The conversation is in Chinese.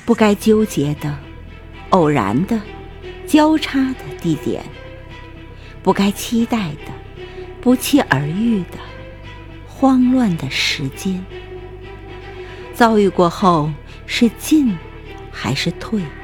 不该纠结的、偶然的、交叉的地点，不该期待的、不期而遇的、慌乱的时间。遭遇过后，是进还是退？